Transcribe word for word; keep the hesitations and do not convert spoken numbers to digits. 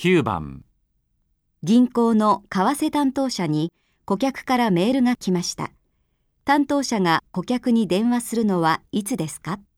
きゅうばん、 銀行の為替担当者に顧客からメールが来ました。担当者が顧客に電話するのはいつですか？